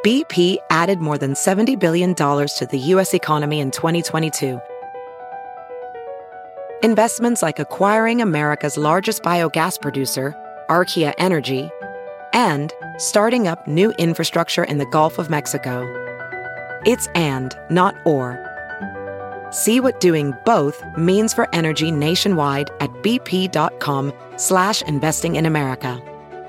BP added more than $70 billion to the U.S. economy in 2022. Investments like acquiring America's largest biogas producer, Archaea Energy, and starting up new infrastructure in the Gulf of Mexico. It's and, not or. See what doing both means for energy nationwide at bp.com/investing in America.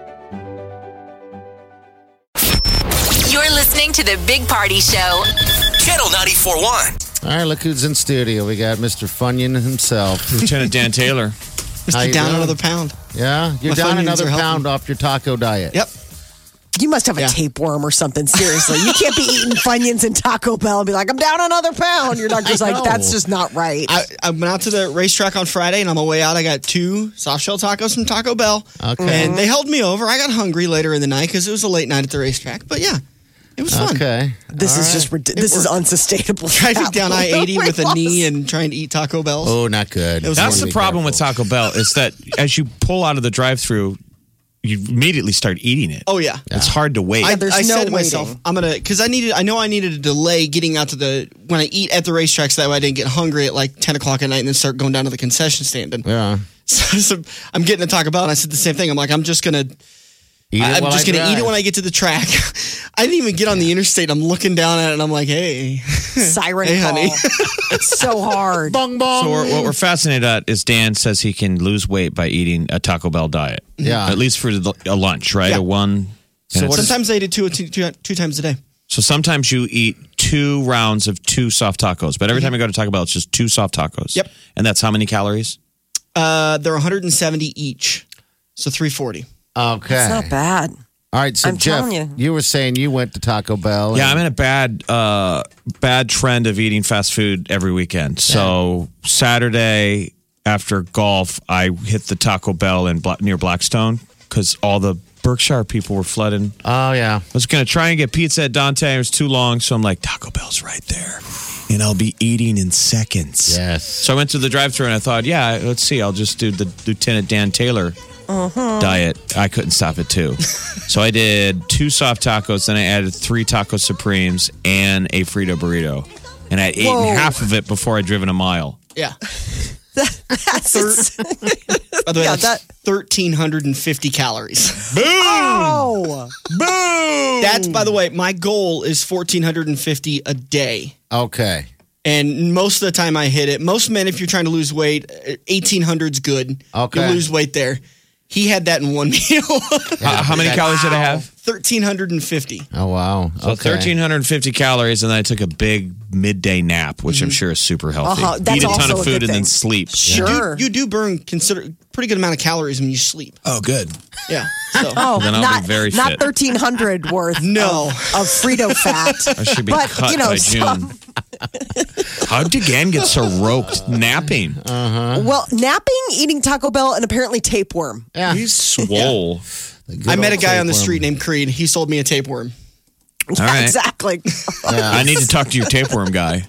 You're listening to the Big Party Show. Channel 94.1. All right, look who's in studio. We got Mr. Funyun himself. Lieutenant Dan Taylor. How you Mr. Down doing? another pound. Yeah? You're My down Funyuns another are helping. pound off your taco diet. Yep. You must have a tapeworm or something, seriously. You can't be eating Funyuns and Taco Bell and be like, I'm down another pound. Your doctor's I like, know. that's just not right. I went out to the racetrack on Friday, and on my way out, I got 2 soft shell tacos from Taco Bell. Okay. And they held me over. I got hungry later in the night because it was a late night at the racetrack. But yeah, it was fun. Okay. This is just this is unsustainable. Driving down I-80 with a knee and trying to eat Taco Bells. Oh, not good. It was That's Wanna the be problem with careful. Taco Bell is that as you pull out of the drive-thru, you immediately start eating it. Oh, yeah. It's hard to wait. there's I no said to myself, waiting. I'm gonna because I know I needed a delay getting out to when I eat at the racetrack so that way I didn't get hungry at like 10 o'clock at night and then start going down to the concession stand. And Yeah. so I'm getting a Taco Bell and I said the same thing. I'm like, I'm just gonna Eat it I'm while just I gonna eat drive. it when I get to the track. I didn't even get on the interstate. I'm looking down at it and I'm like, hey, Siren Hey, call. honey. It's so hard. Bong, bong. So what we're fascinated at is Dan says he can lose weight by eating a Taco Bell diet. Yeah. At least for a lunch, right? Yeah. A one. So and what it's- sometimes I eat it two times a day. so sometimes you eat 2 rounds of 2 soft tacos, but every time you go to Taco Bell, it's just 2 soft tacos. Yep. And that's how many calories? They're 170 each, so 340. Okay. It's not bad. All right, so I'm Jeff, telling you. were saying you went to Taco Bell. Yeah, and- I'm in a bad trend of eating fast food every weekend. So Saturday after golf, I hit the Taco Bell near Blackstone because all the Berkshire people were flooding. Oh, yeah. I was going to try and get pizza at Dante. It was too long, so I'm like, Taco Bell's right there. And I'll be eating in seconds. Yes. So I went to the drive-thru and I thought, yeah, let's see. I'll just do the Lieutenant Dan Taylor diet. I couldn't stop it, too. So I did 2 soft tacos, then I added 3 taco supremes and a Frito burrito. And I had eaten Whoa. half of it before I'd driven a mile. Yeah. That's By the way, Yeah, that's 1,350 calories. oh. Boom! That's, by the way, my goal is 1,450 a day. Okay. And most of the time I hit it. Most men, if you're trying to lose weight, 1,800's good. Okay. You lose weight there. He had that in one meal. How many calories did I have? 1,350. Oh, wow. So okay. 1,350 calories, and then I took a big midday nap, which I'm sure is super healthy. That's Eat a ton also of a food good and then thing. sleep. Sure. You do burn pretty good amount of calories when you sleep. Oh, good. Yeah. So. Oh, Then I'll not, be very not fit. 1,300 worth No. of Frito fat. I should be But, cut you know, by some- June. How did Dan get so roped napping? Well, napping, eating Taco Bell, and apparently tapeworm. Yeah. He's swole. Good I met a old guy on the tapeworm. street named Creed. He sold me a tapeworm. All right. Exactly. I need to talk to your tapeworm guy.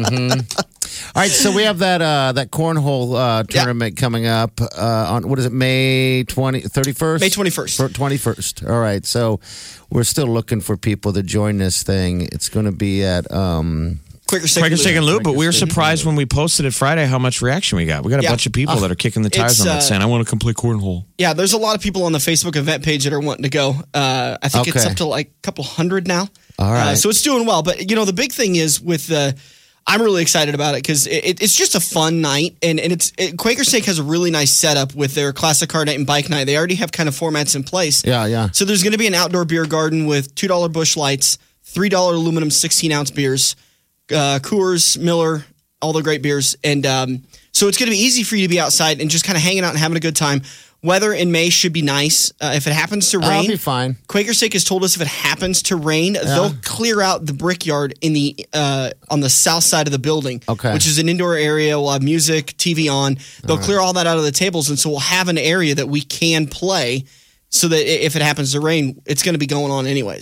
All right, so we have that cornhole tournament coming up on, what is it, May 31st? May 21st. 21st. All right, so we're still looking for people to join this thing. It's going to be at... Quaker Steak Quaker Steak and Lube, but we were Steak and surprised when we posted it Friday how much reaction we got. We got a Yeah. bunch of people that are kicking the tires It's, on that saying, I want to come play cornhole. Yeah, there's a lot of people on the Facebook event page that are wanting to go. I think it's Okay. up to like a couple hundred now. All right. So it's doing well. But, the big thing is with I'm really excited about it because it's just a fun night. And Quaker Steak has a really nice setup with their classic car night and bike night. They already have kind of formats in place. Yeah. So there's going to be an outdoor beer garden with $2 Busch Lights, $3 aluminum 16-ounce beers, Coors, Miller, all the great beers. And so it's going to be easy for you to be outside and just kind of hanging out and having a good time. Weather in May should be nice. If it happens to rain, I'll be fine. Quaker Steak has told us if it happens to rain, they'll clear out the brickyard in the on the south side of the building, Okay. which is an indoor area. We'll have music, TV on. They'll clear all that out of the tables, and so we'll have an area that we can play so that if it happens to rain, it's going to be going on anyways.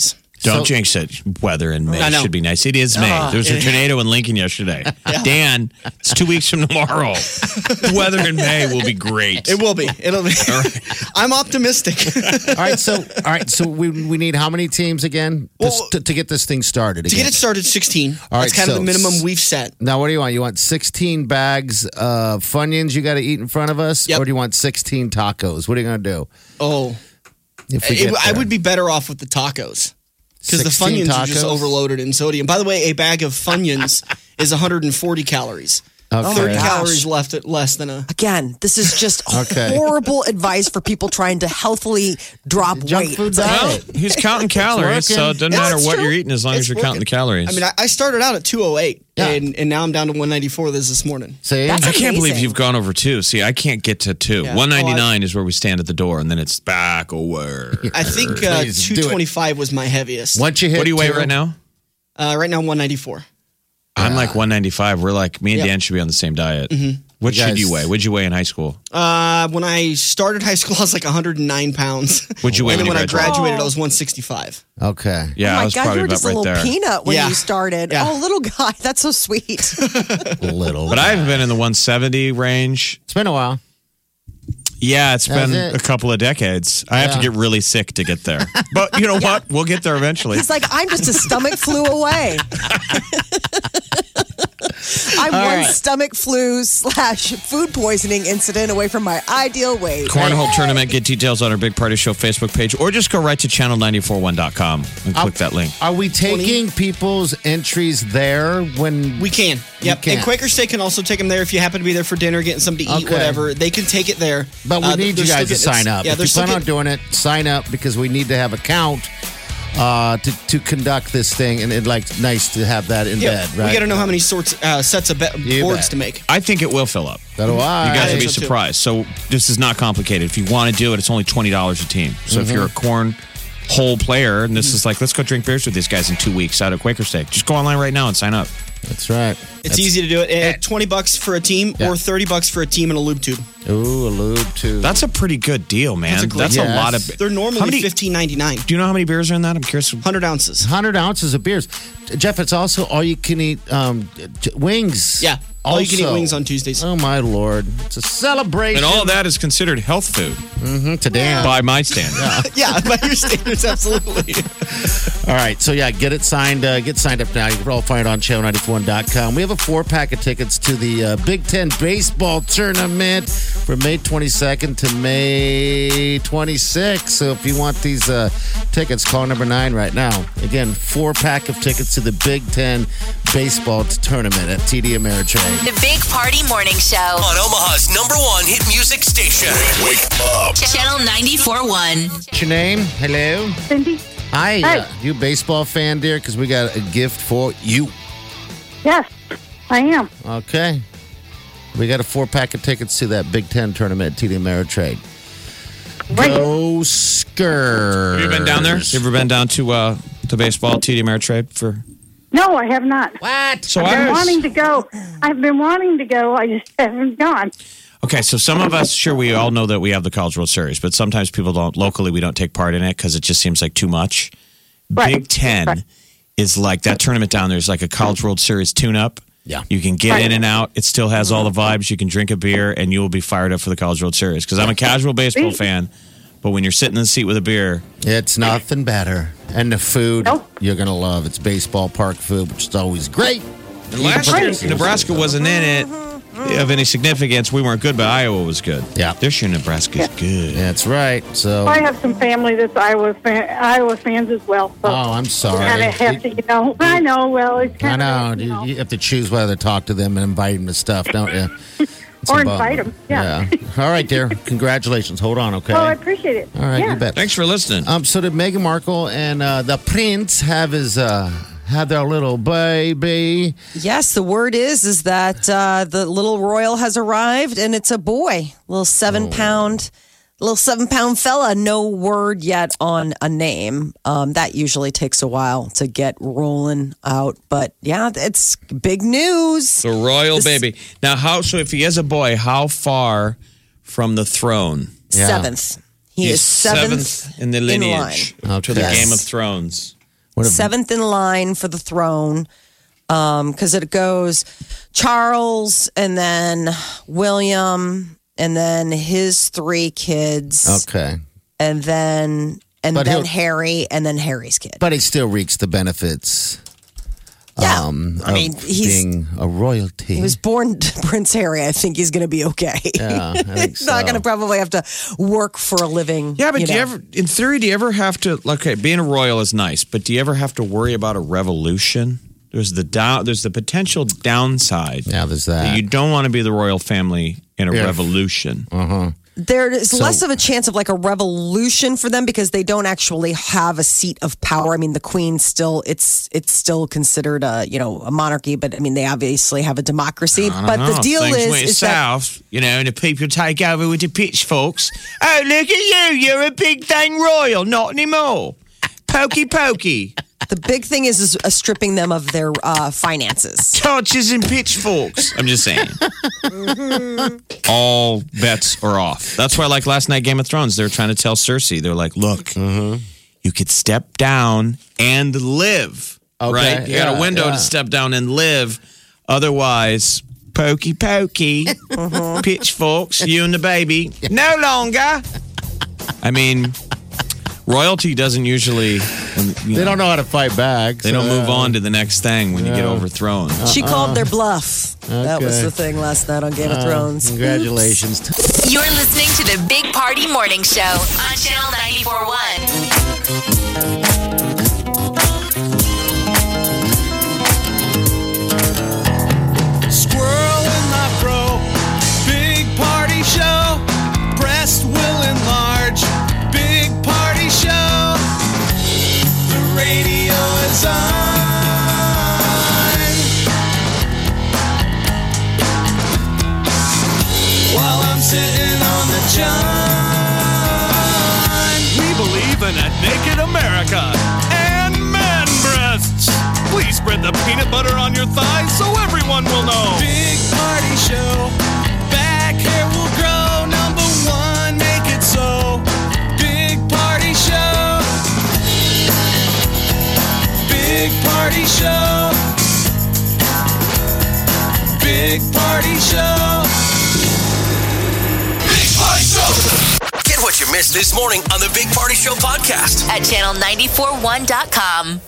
Don't jinx it. Weather in May I know. should be nice. It is May. There was a tornado in Lincoln yesterday. Dan, it's 2 weeks from tomorrow. Weather in May will be great. It will be. It'll be. I'm optimistic. All right, so we need how many teams again to get this thing started? To get it started, 16. All right, That's kind of so the minimum we've set. Now, what do you want? You want 16 bags of Funyuns you got to eat in front of us? Yep. Or do you want 16 tacos? What are you going to do? Oh, If we get I there? would be better off with the tacos. Because the 16 Funyuns are just tacos? overloaded in sodium. By the way, a bag of Funyuns is 140 calories. Okay. 30 gosh. calories less than a... Again, this is just Okay. horrible advice for people trying to healthily drop Junk weight. food It's like, diet. Well, he's counting calories, so it doesn't Yeah, matter it's what true. you're eating as long as It's you're counting the calories. I mean, I started out at 208, Yeah. and now I'm down to 194 this morning. See? That's I can't believe amazing. you've gone over 2. See, I can't get to 2. Yeah. 199 is where we stand at the door, and then it's back over. I think Please do it. 225 was my heaviest. Once you hit What do you weigh 2, right now? Right now, 194. I'm like 195. We're like, me and Yeah. Dan should be on the same diet. What You should guys- you weigh? What'd you weigh in high school? When I started high school, I was like 109 pounds. What'd you weigh And then when when you I graduated, I was 165. Okay. Yeah, oh I my was God, probably you were about just a right little there. peanut when Yeah. you started. Yeah. Oh, little guy. That's so sweet. Little. But I've been in the 170 range. It's been a while. Yeah, it's Has been it? a couple of decades. I have to Yeah. get really sick to get there. But you know what? We'll get there eventually. He's like, I'm just a stomach flu away. I'm one stomach flu / food poisoning incident away from my ideal weight. Cornhole tournament. Get details on our Big Party Show Facebook page, or just go right to channel941.com and click that link. Are we taking people's entries there when We can. Yep. can. And Quaker Steak can also take them there if you happen to be there for dinner, getting something to eat, Okay. whatever. They can take it there. But we need they're you guys to still sign up. Yeah, If they're you still plan on getting, doing it, sign up because we need to have a count to conduct this thing, and it's like nice to have that in yeah, bed, right? We got to know how many sets of You boards bet. to make. I think it will fill up. So do I. You guys will think be so, too. surprised. So this is not complicated. If you want to do it, it's only $20 a team. So if you're a corn whole player, and this is like, let's go drink beers with these guys in 2 weeks out at Quaker Steak, just go online right now and sign up. That's right. It's easy to do it. $20 for a team Yeah. or $30 for a team and a lube tube. Ooh, a lube too. That's a pretty good deal, man. That's a great That's deal. a lot Yes. of. They're normally How many- $15.99. Do you know how many beers are in that? I'm curious. 100 ounces. 100 ounces of beers. Jeff, it's also all you can eat wings. Yeah. All you can eat Also. wings on Tuesdays. Oh, my Lord. It's a celebration. And all of that is considered health food to Dan. by my standards. Yeah, by your standards, absolutely. All right, so yeah, get it signed. Get signed up now. You can all find it on channel94.com. We have a 4-pack of tickets to the Big Ten baseball tournament from May 22nd to May 26th. So if you want these tickets, call number 9 right now. Again, 4-pack of tickets to the Big Ten baseball tournament at TD Ameritrade. The Big Party Morning Show. On Omaha's #1 hit music station. Wake up. Channel 94.1. What's your name? Hello. Cindy? Hi. Hi. You a baseball fan, dear? Because we got a gift for you. Yes, I am. Okay. We got a 4-pack of tickets to that Big Ten tournament at TD Ameritrade. Right. Go Skurs. Have you been down there? You ever been down to baseball, TD Ameritrade for? No, I have not. What? So I've I been was- wanting to go. I've been wanting to go. I just haven't gone. Okay, so some of us, sure, we all know that we have the College World Series, but sometimes people don't, locally, we don't take part in it because it just seems like too much. Right. Big Ten Right. is like, that tournament down there is like a College World Series tune-up. Yeah. You can get Right. in and out. It still has all the vibes. You can drink a beer, and you will be fired up for the College World Series. Because I'm a casual baseball Sweet. fan, but when you're sitting in the seat with a beer, It's nothing better. And the food Nope. you're going to love. It's baseball park food, which is always great. and last year, Right. Nebraska wasn't in it of any significance. We weren't good, but Iowa was good. Yeah. This year, Nebraska's good. That's right. So, I have some family that's Iowa fans as well. So oh, I'm sorry. kind of have to, I know. Well, it's I kind know. of, You have to choose whether to talk to them and invite them to stuff, don't you? It's Or a bummer. invite 'em, yeah. All right, dear. Congratulations. Hold on, okay? Oh, I appreciate it. All right, yeah. you bet. Thanks for listening. So did Meghan Markle and the Prince have their little baby? Yes, the word is that the little royal has arrived, and it's a boy, little 7-pound fella. No word yet on a name. That usually takes a while to get rolling out, but yeah, it's big news. The royal baby. Now, so if he is a boy, how far from the throne? Yeah. 7th. He He's is seventh in the lineage line. to the Okay. Game of Thrones. seventh in line for the throne. Because it goes Charles and then William and then his 3 kids. Okay. And then Harry and then Harry's kid. But he still reaps the benefits. Yeah. I mean, he's being a royalty. He was born Prince Harry. I think he's going to be okay. Yeah, I think He's not going to probably have to work for a living. Yeah, but do you ever, in theory, do you ever have to, okay, being a royal is nice, but do you ever have to worry about a revolution? There's the potential downside. Yeah, there's that. You don't want to be the royal family in a revolution. There is less of a chance of like a revolution for them because they don't actually have a seat of power. I mean, the Queen it's still considered a monarchy, but I mean, they obviously have a democracy. But the deal is south, and the people take over with the pitchforks. Oh, look at you! You're a big thing royal. Not anymore. Pokey pokey. The big thing is stripping them of their finances. Torches and pitchforks. I'm just saying. All bets are off. That's why, like last night, Game of Thrones, they're trying to tell Cersei, they're like, look, you could step down and live. Okay, right? You got a window to step down and live. Otherwise, pokey pokey, pitchforks, you and the baby. No longer. I mean... Royalty doesn't usually... They don't know how to fight back. They don't move on to the next thing when you get overthrown. She called their bluff. That was the thing last night on Game of Thrones. Congratulations. You're listening to the Big Party Morning Show on Channel 94.1. Squirrel in my fro. Big party show. Breast will enlarge. Big party show. The radio is on. While I'm sitting on the john. We believe in a naked America and man breasts. Please spread the peanut butter on your thighs so everyone will know. Big party show. Back hair will grow. Number 1, make it so. Big party show. Big party show. Big party show. Big Party Show. Get what you missed this morning on the Big Party Show podcast At channel941.com.